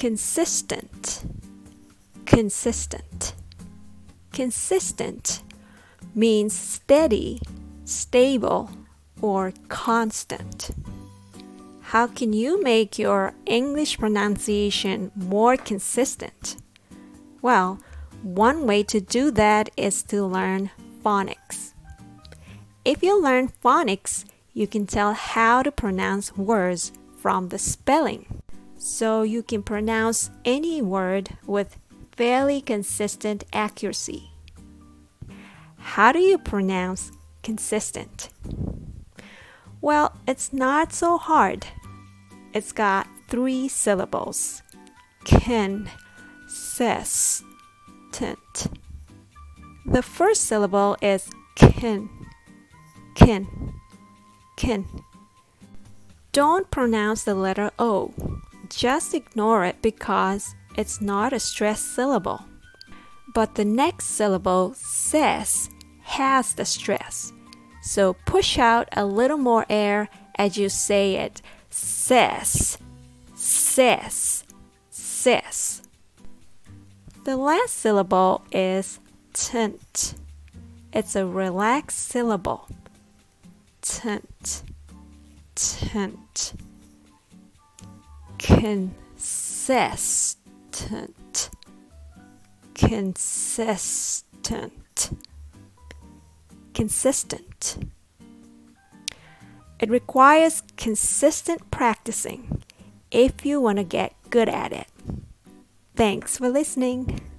Consistent, consistent. Consistent means steady, stable, or constant. How can you make your English pronunciation more consistent? Well, one way to do that is to learn phonics. If you learn phonics, you can tell how to pronounce words from the spelling. So you can pronounce any word with fairly consistent accuracy. How do you pronounce consistent? Well, it's not so hard. It's got 3 syllables. Consistent. The first syllable is kin. Don't pronounce the letter O. Just ignore it because it's not a stressed syllable. But the next syllable, ses, has the stress. So push out a little more air as you say it. Ses, ses, ses. The last syllable is tent. It's a relaxed syllable. Tent, tent. Consistent, consistent, consistent. It requires consistent practicing if you want to get good at it. Thanks for listening.